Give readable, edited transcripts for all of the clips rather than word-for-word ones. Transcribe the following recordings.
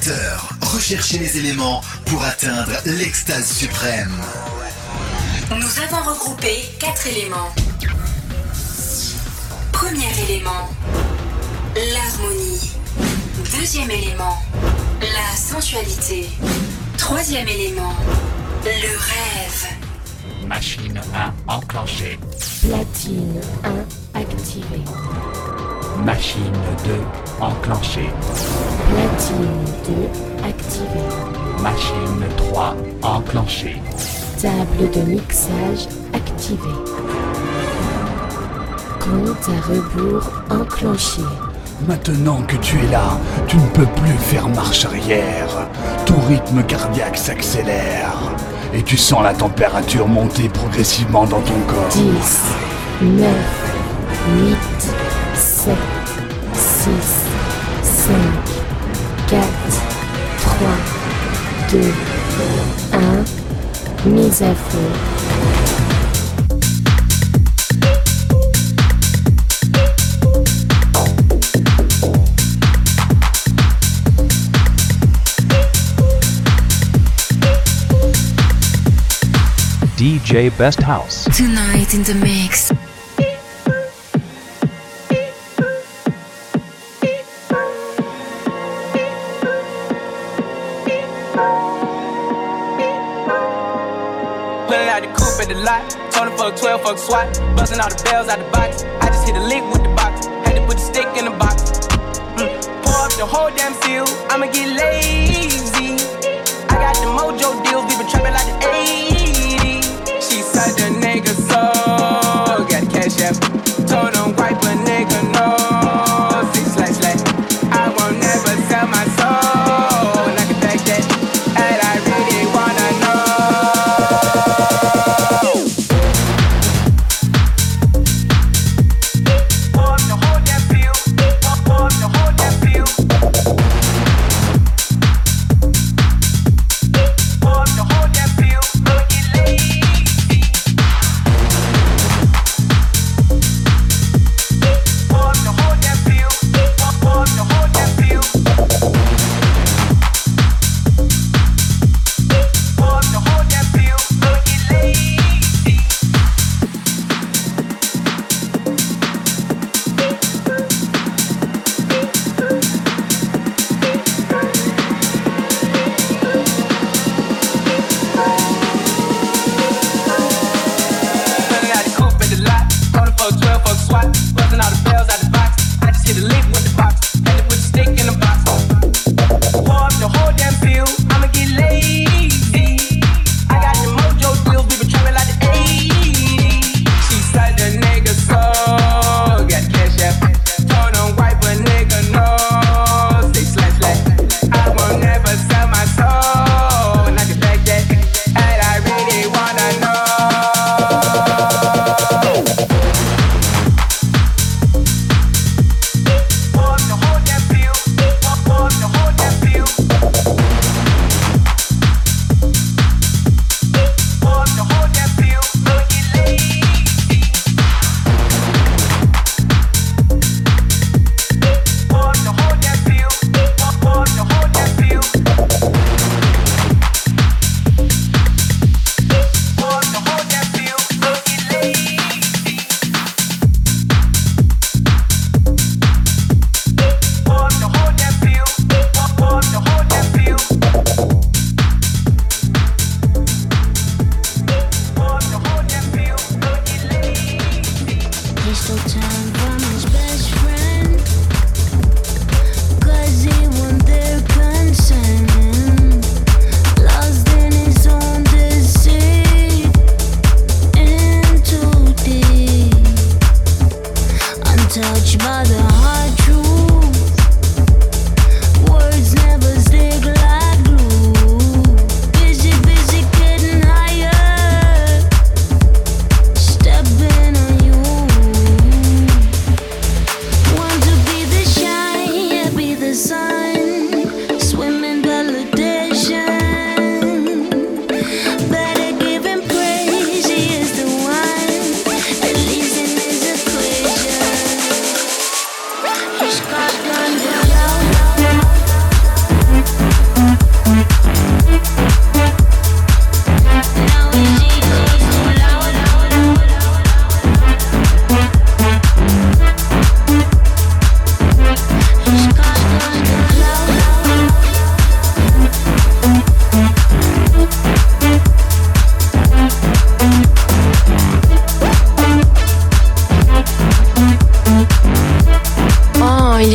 20h, recherchez les éléments pour atteindre l'extase suprême. Nous avons regroupé 4 éléments. Premier élément, l'harmonie. Deuxième élément, la sensualité. Troisième élément, le rêve. Machine 1 enclenchée. Platine 1 activée. Machine 2 enclenchée. Platine 2 activée. Machine 3 enclenchée. Table de mixage activée. Compte à rebours enclenché. Maintenant que tu es là, tu ne peux plus faire marche arrière. Ton rythme cardiaque s'accélère. Et tu sens la température monter progressivement dans ton corps. 10, 9, 8, 7, 6, 5, 4, 3, 2, 1, mise à feu. DJ Best House. Tonight in the mix. Pulling out the coupe at the lot. Told him fuck 12, fuck SWAT. Busting all the bells out the box. I just hit a lick with the box. Had to put the stick in the box. Pour up the whole damn field. I'ma get lazy. I got the mojo deals. We been trapping like the 80s. She said the nigga so. Got the cash app. Told him wipe a nigga no. 6//. I won't never sell my soul. And I can back that. And I really wanna know.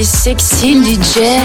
est sexy le DJ.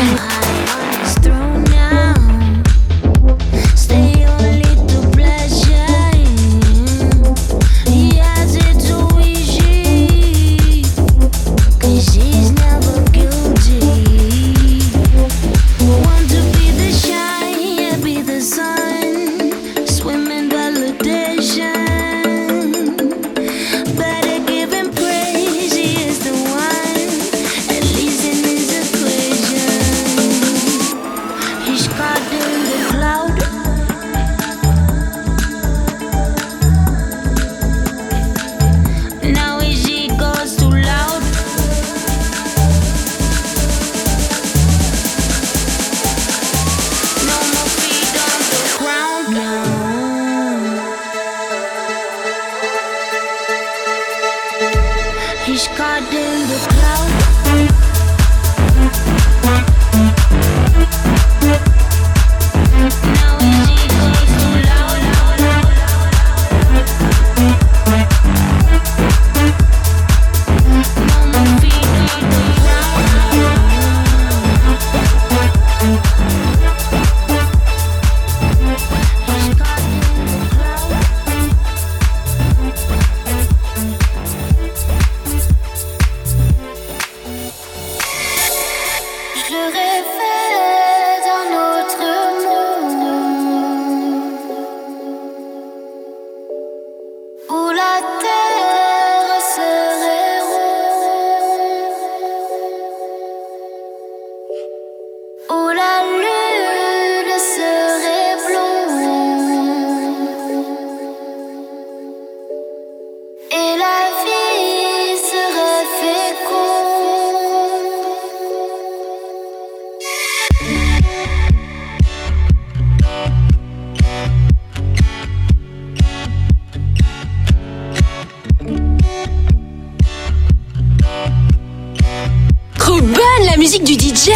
Musique du DJ.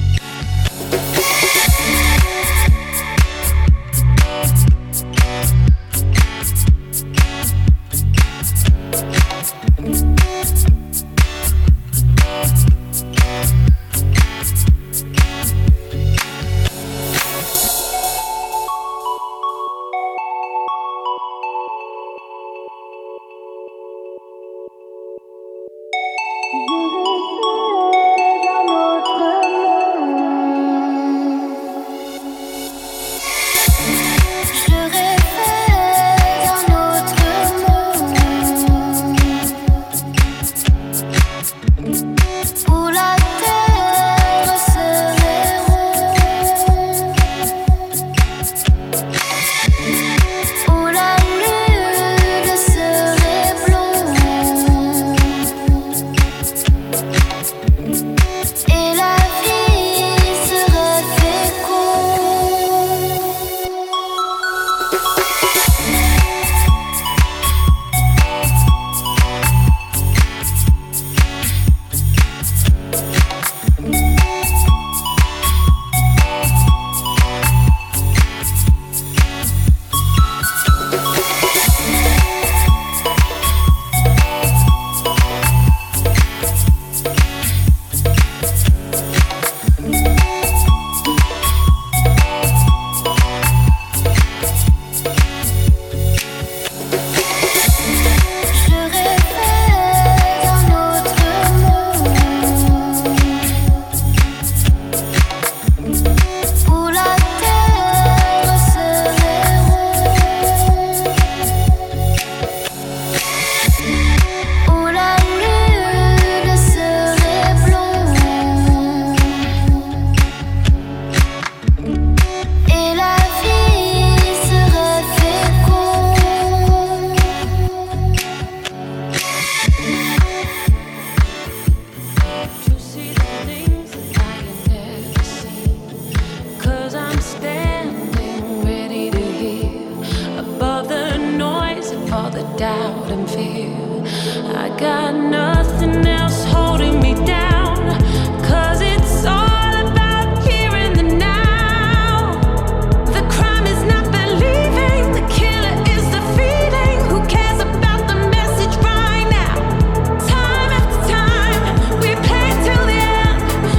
doubt and fear. I got nothing else holding me down, 'cause it's all about here and the now. The crime is not believing, the killer is defeating. Who cares about the message right now? Time after time, we play till the end.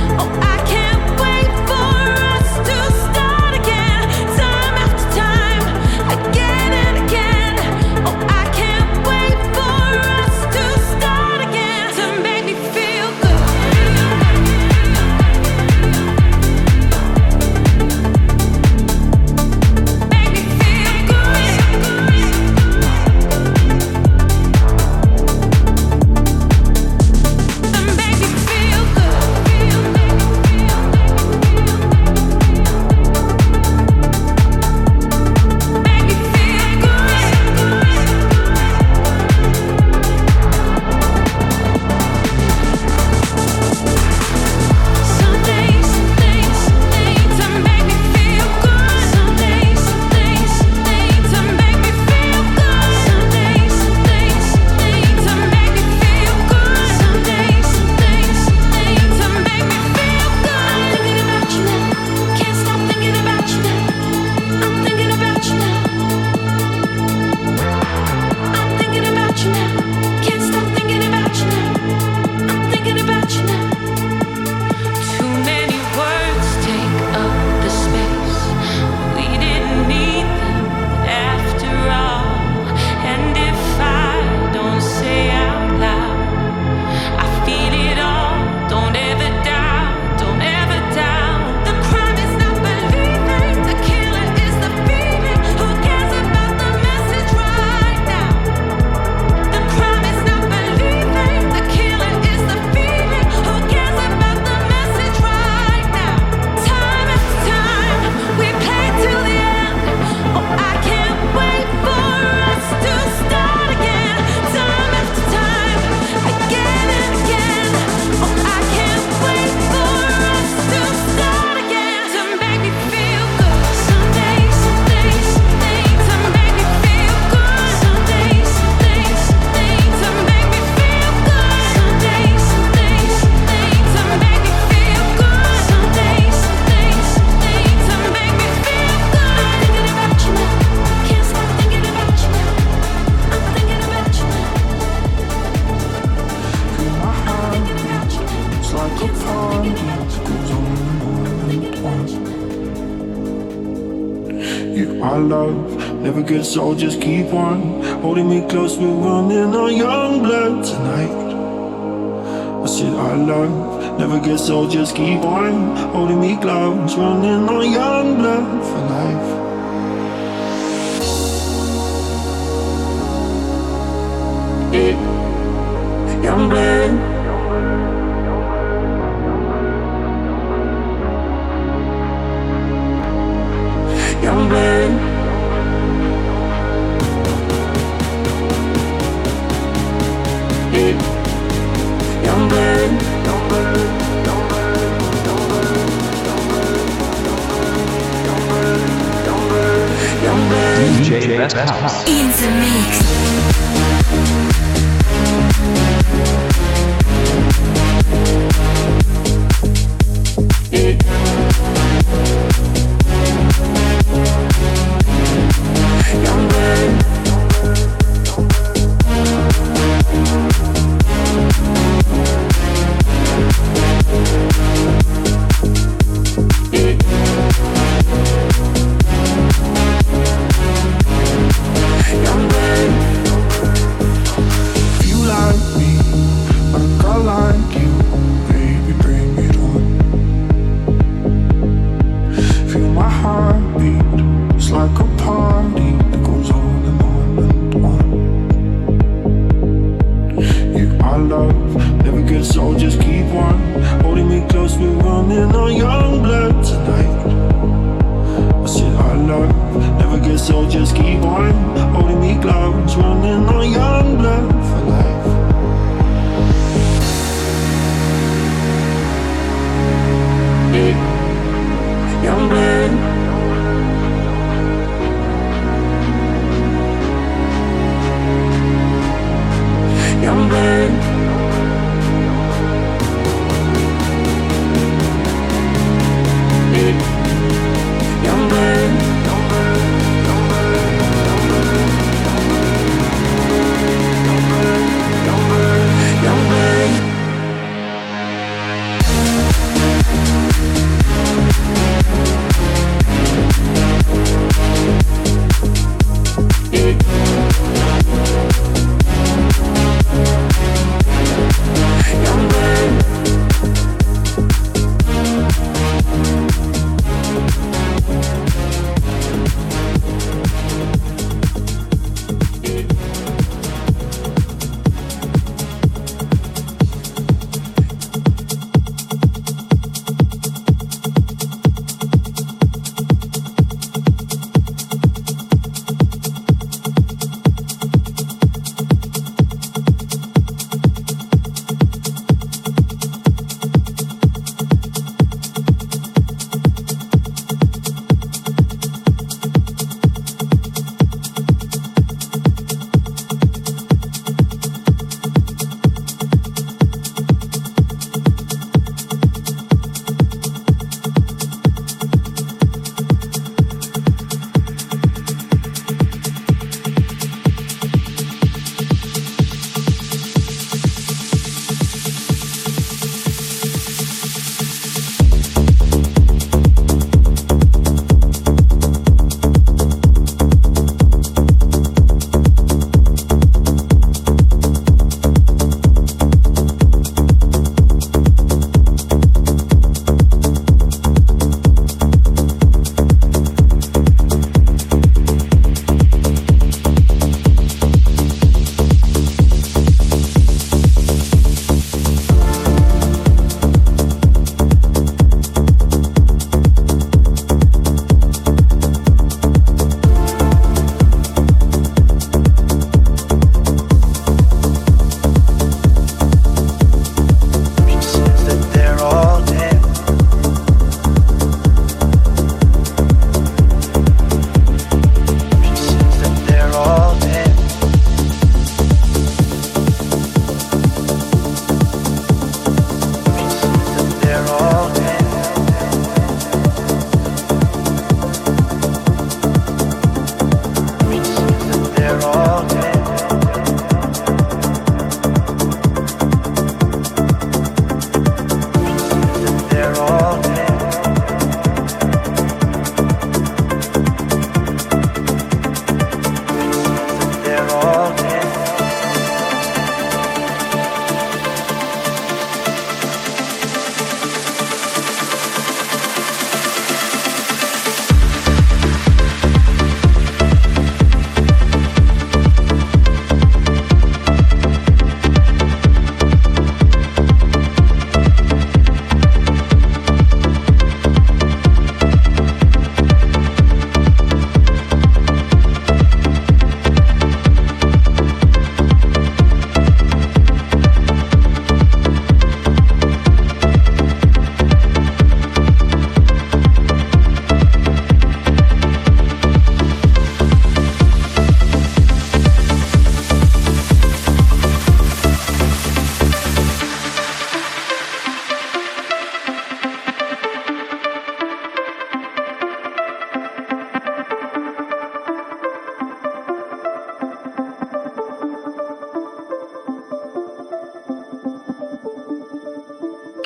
my love never gets old, just keep on holding me close, we're running on young blood tonight. I said our love never gets old, just keep on holding me close, running on young blood for life. Young blood, young blood, young blood, DJ Best House. In the mix.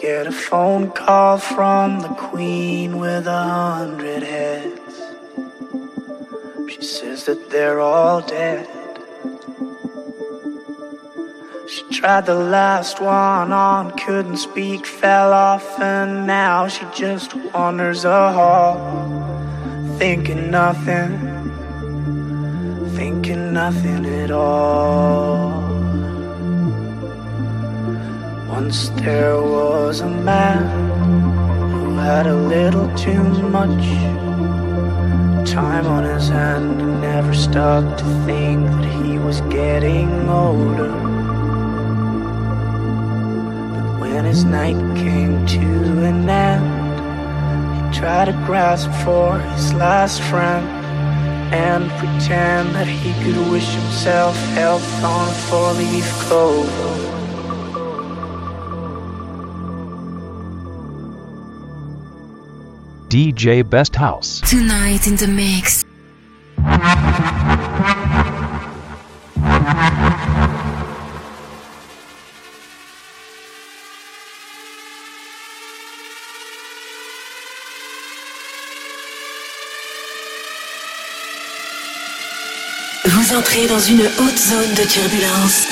get a phone call from the queen with 100 heads. She says that they're all dead. She tried the last one on, couldn't speak, fell off, and now she just wanders a hall, thinking nothing at all. Once there was a man who had a little too much time on his hand and never stopped to think that he was getting older. But when his night came to an end, he tried to grasp for his last friend and pretend that he could wish himself health on a four-leaf clover. DJ Best House. Tonight in the mix. Vous entrez dans une haute zone de turbulence.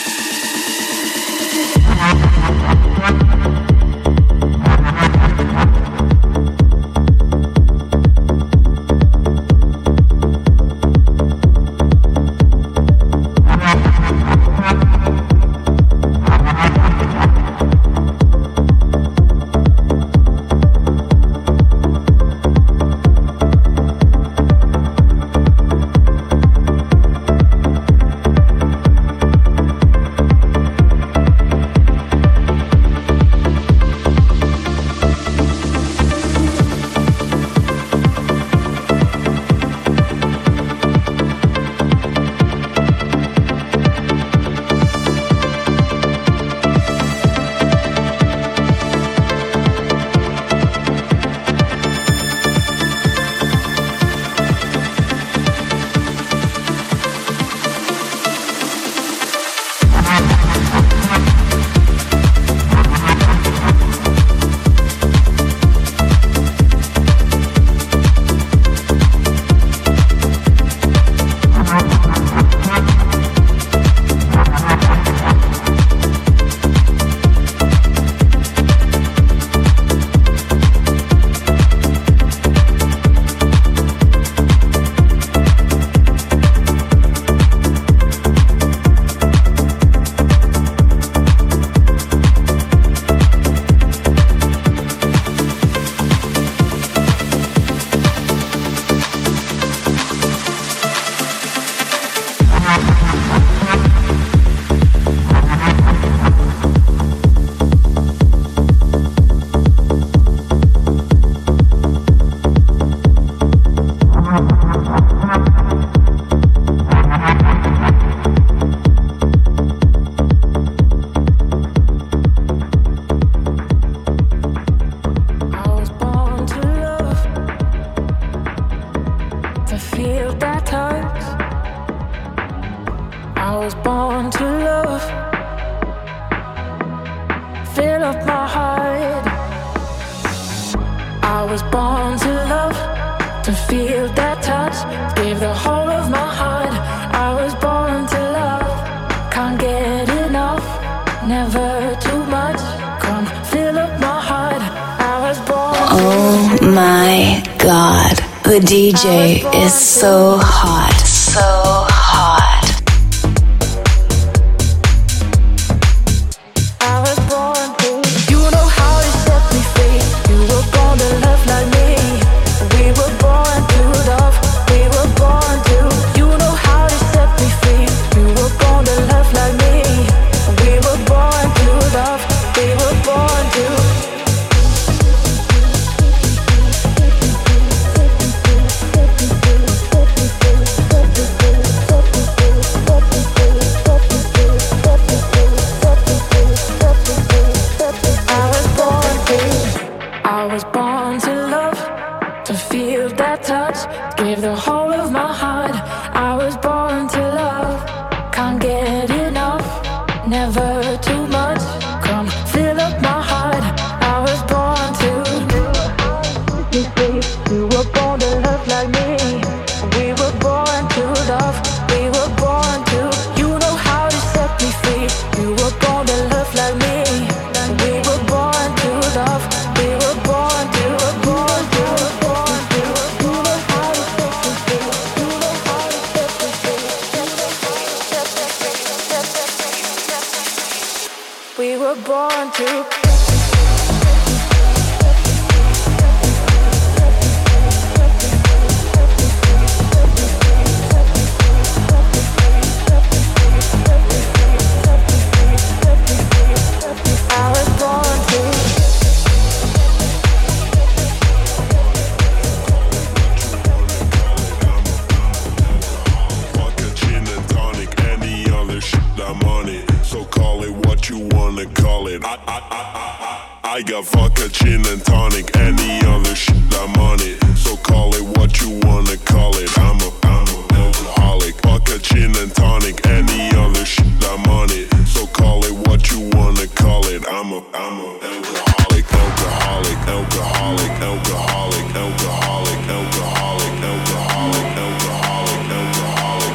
The DJ is so hot, so hot. were born to. I got vodka, gin and tonic, any other shit, I'm on it. So call it what you wanna call it. I'm a alcoholic. Vodka, gin and tonic, any other shit, I'm on it. So call it what you wanna call it. I'm a alcoholic, alcoholic, alcoholic, alcoholic, alcoholic, alcoholic, alcoholic, alcoholic, alcoholic, alcoholic,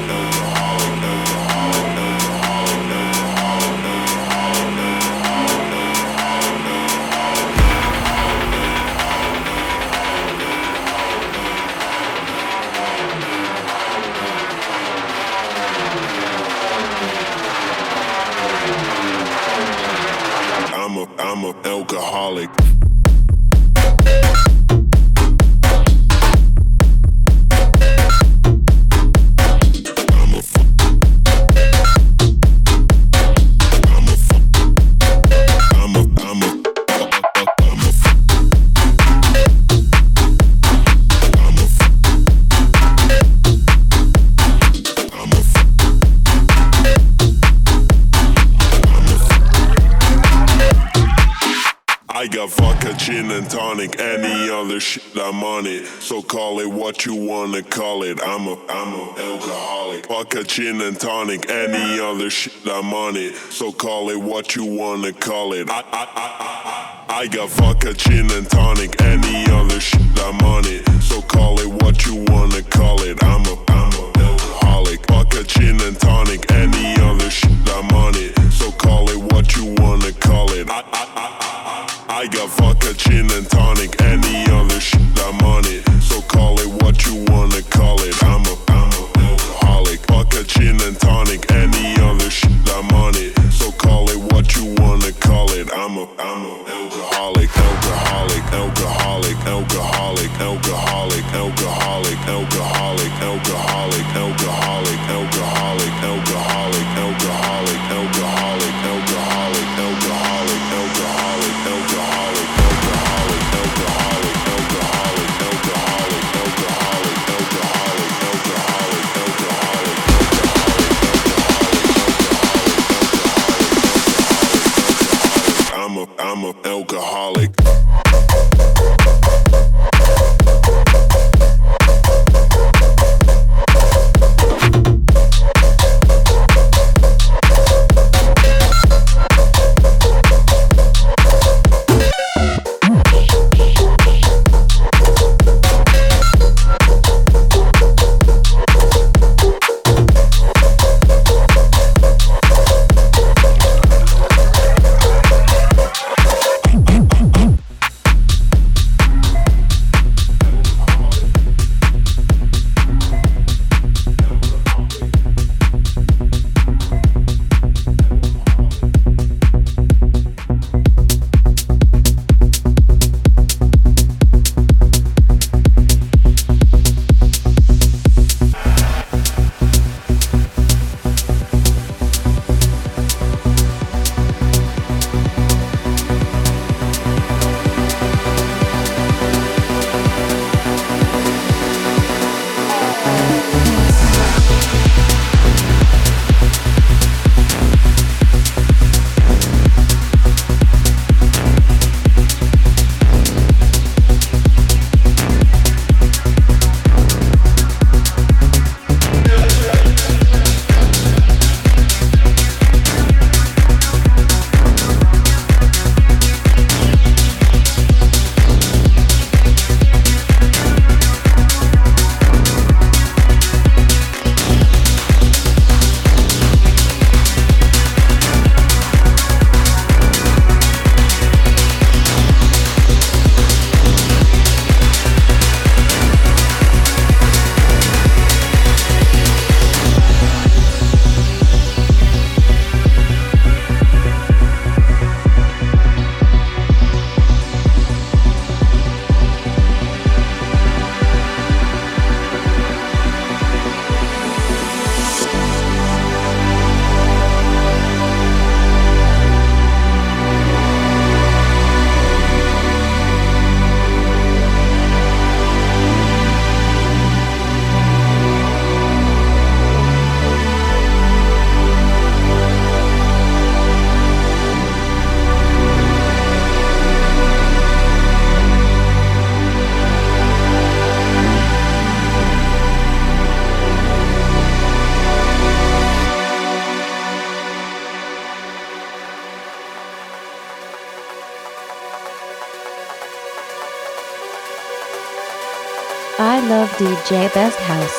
I'm a alcoholic. I got vodka, gin and tonic, any other shit, I'm on it. So call it what you wanna call it. I'm a alcoholic. Vodka, gin and tonic, any other shit, I'm on it. So call it what you wanna call it. I got vodka, gin and tonic, any other shit, I'm on it. So call it what you wanna call it. I'm a alcoholic. Vodka, gin and tonic, any other shit, I'm on it. So call it what you wanna call it. I got vodka, gin and tonic, any other shit, I'm on it. So call it what you wanna call it. I'm a alcoholic. Vodka, gin and tonic, any other shit, I'm on it. So call it what you wanna call it. I'm a alcoholic, alcoholic, alcoholic, alcoholic, alcoholic, alcoholic, alcoholic, alcoholic, alcoholic, alcoholic, alcoholic. love DJ Best House.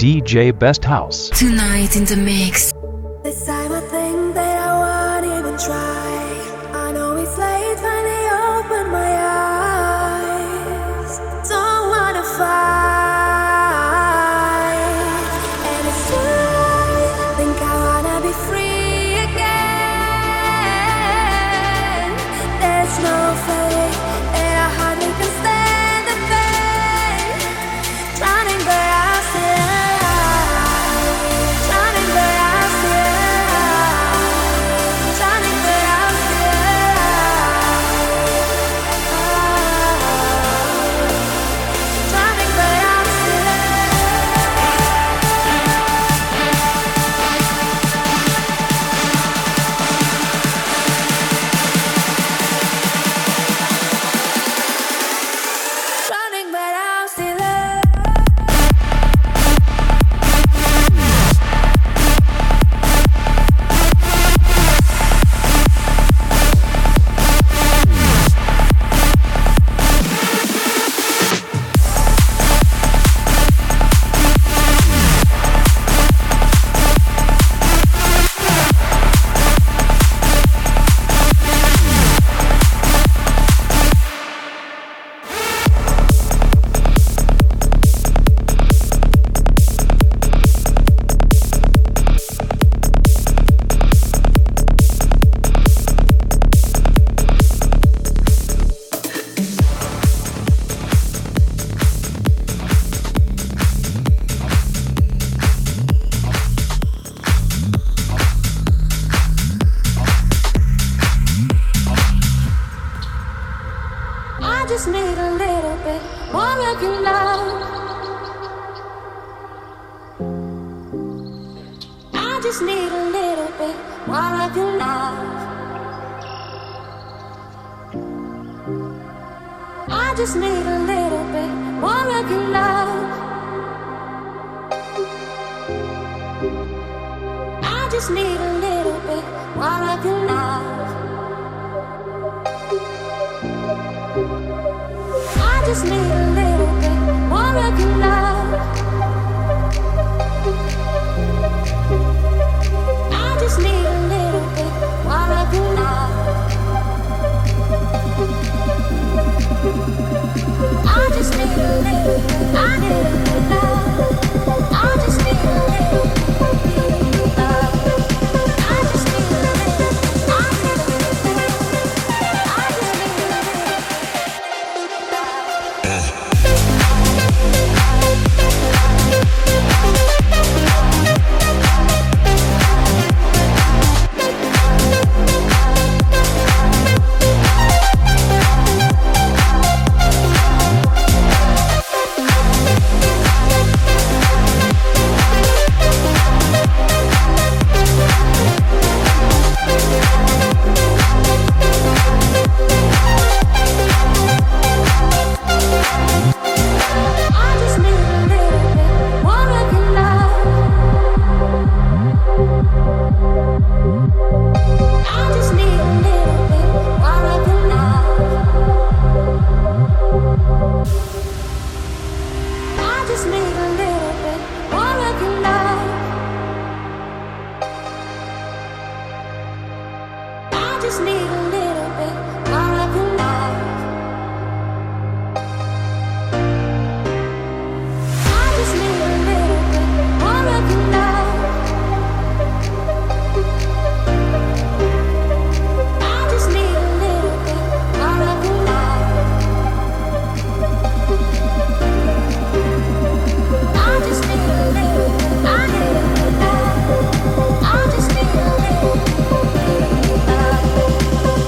DJ Best House. Tonight in the mix. This time I think that I won't even try. I know it's late, finally open my eyes. Don't wanna fight, and it's true. Think I wanna be free again. There's no fate, and I hardly can stand the pain. Drowning, but I'm still alive. Drowning, but I'm still alive. Drowning, but I'm still alive. Drowning, but I'm still drowning, but I'm still I just need a little bit more of your love. I just need a little bit more of your love. I just need a little bit more of your love. I just need a little bit more of your love. I just need a little bit more of your love. I just need a little bit more of your love. I just need a little bit. I need a little love. I just need a little bit of love. I just need a little. I need a little bit. I just need a little. I just need a little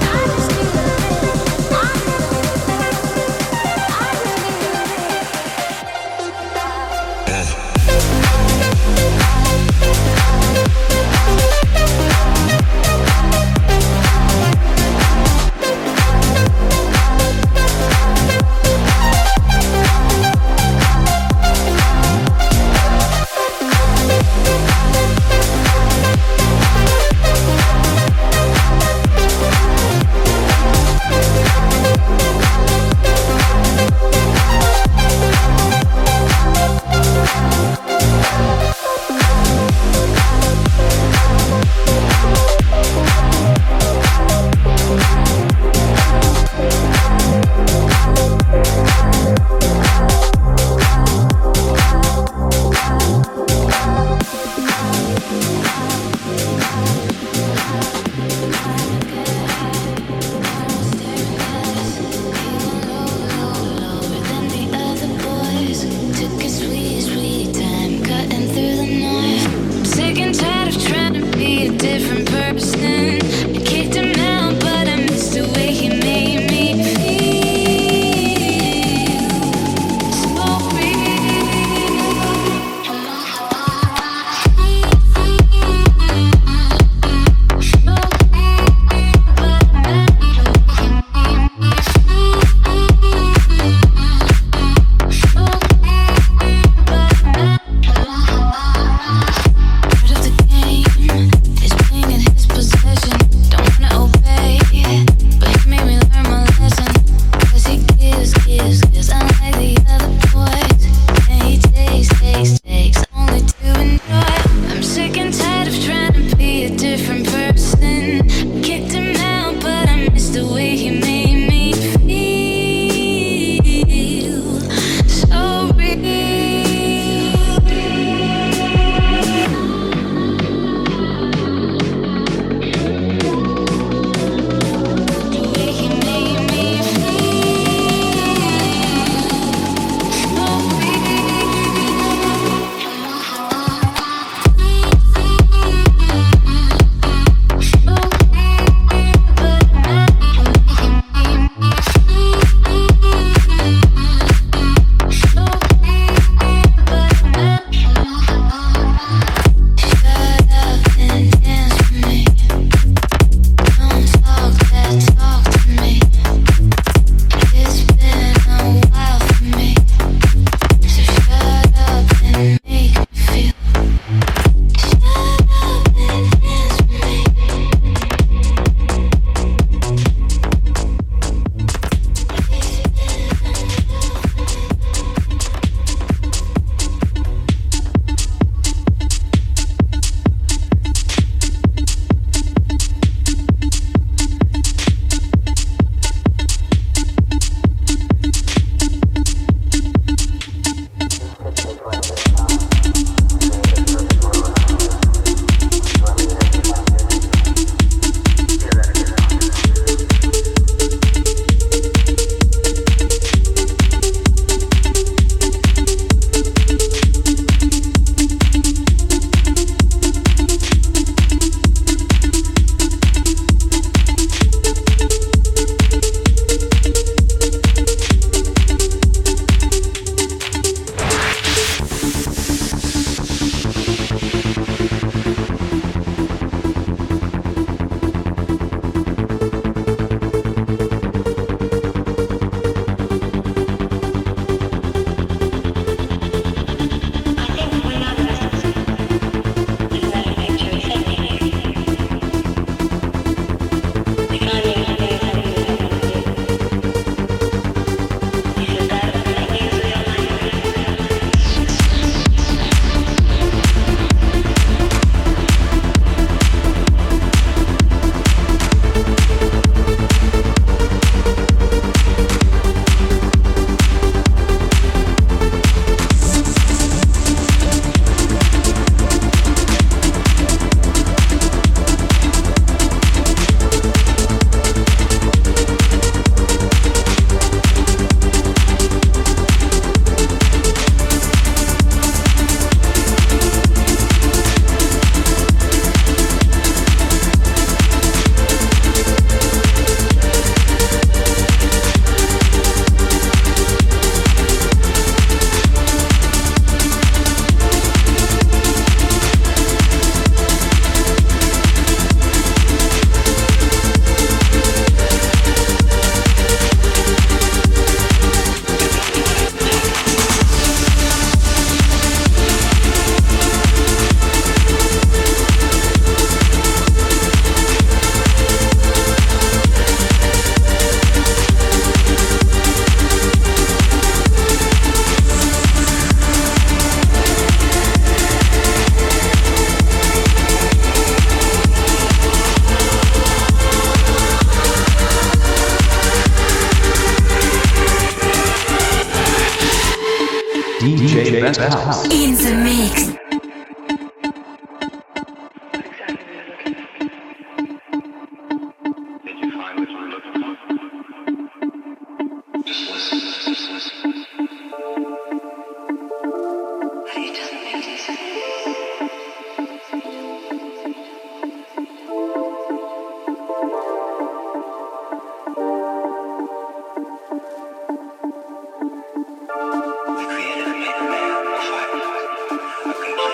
DJ Best House. In the mix. The creator made a man a fire, a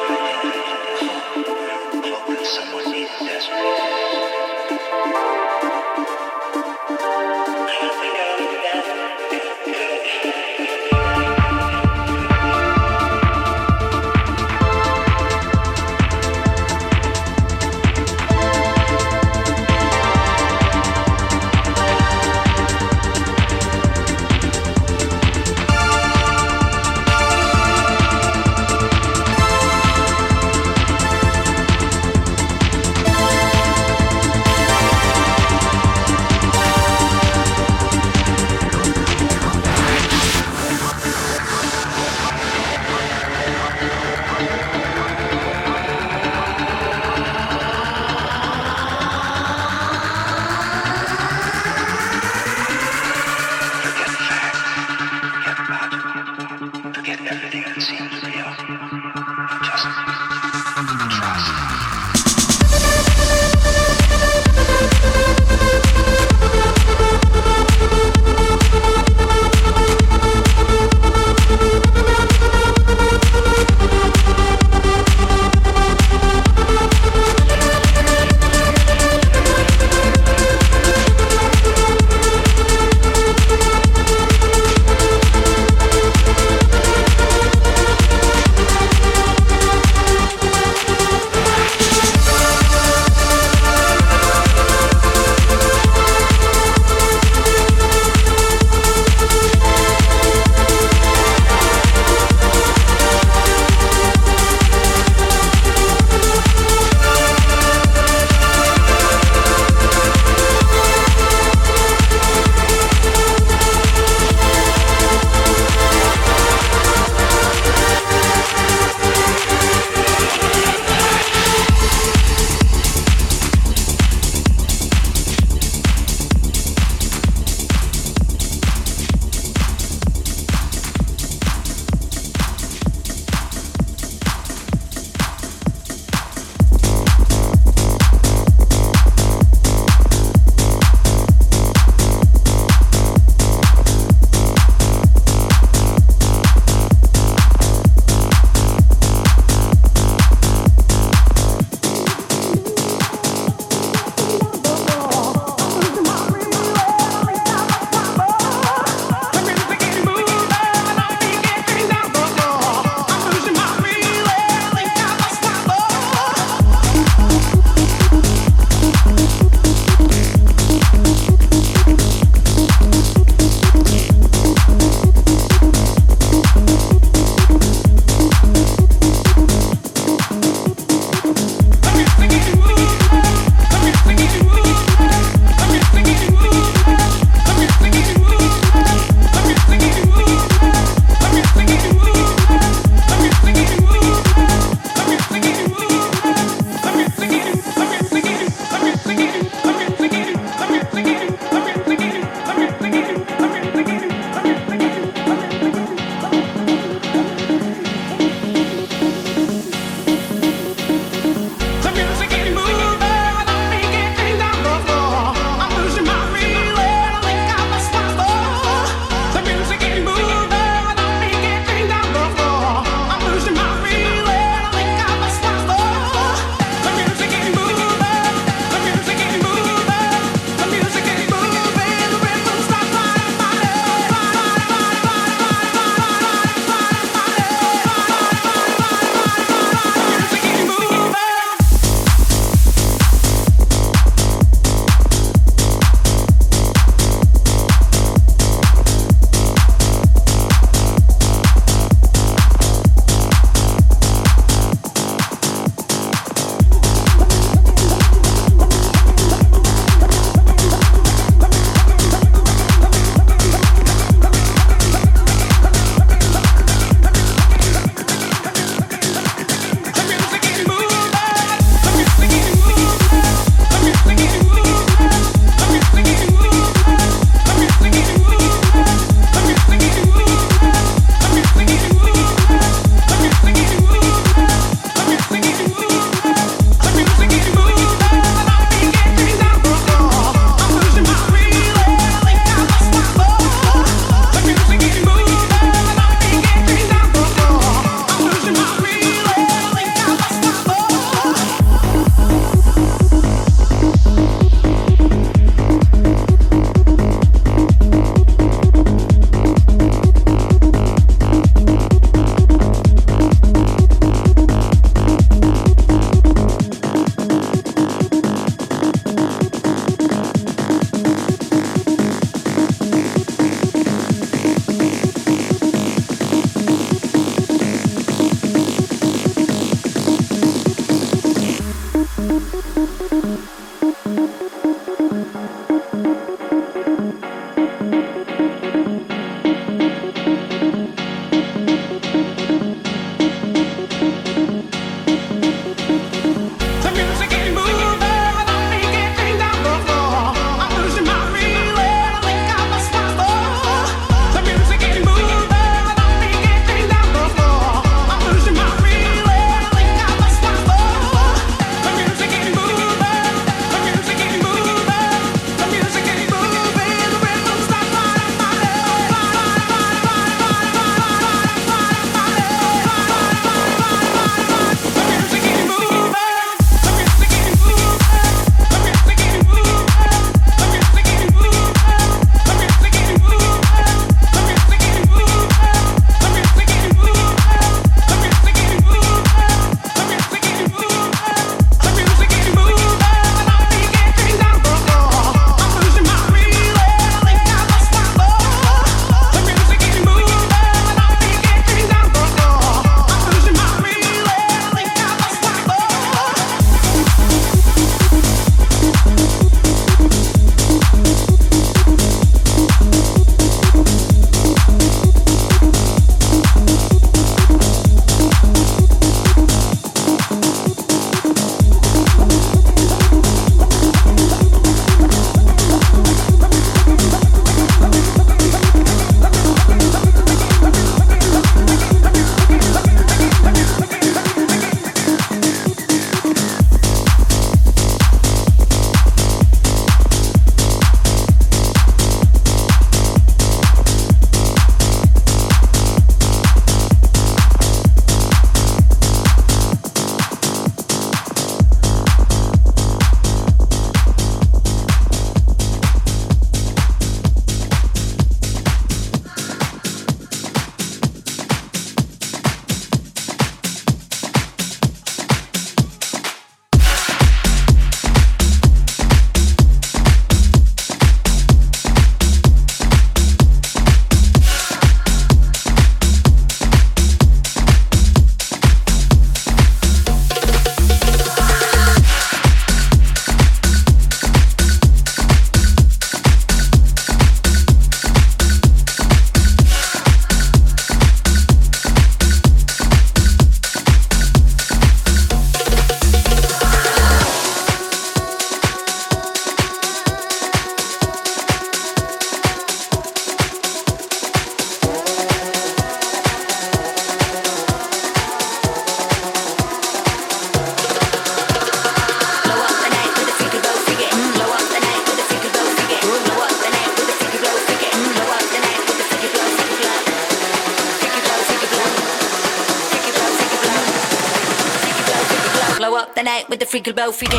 freaky blow freaky.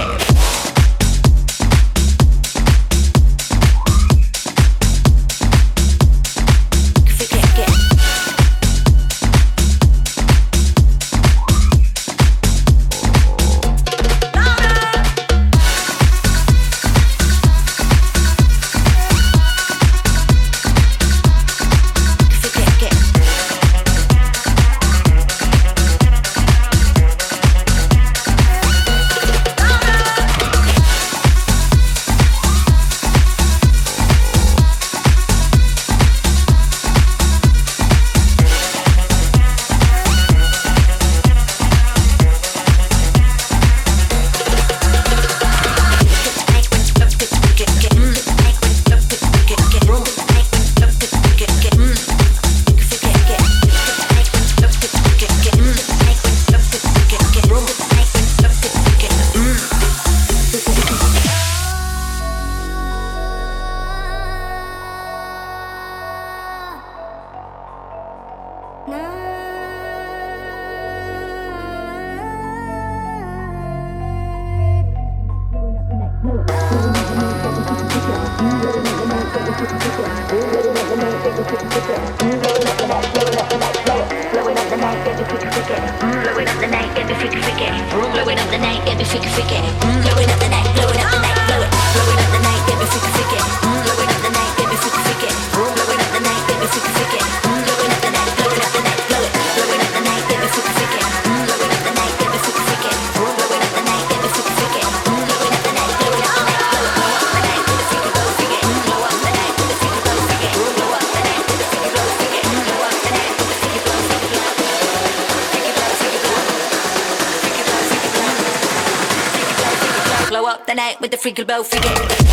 Blow up the night with the freaky blow freaky.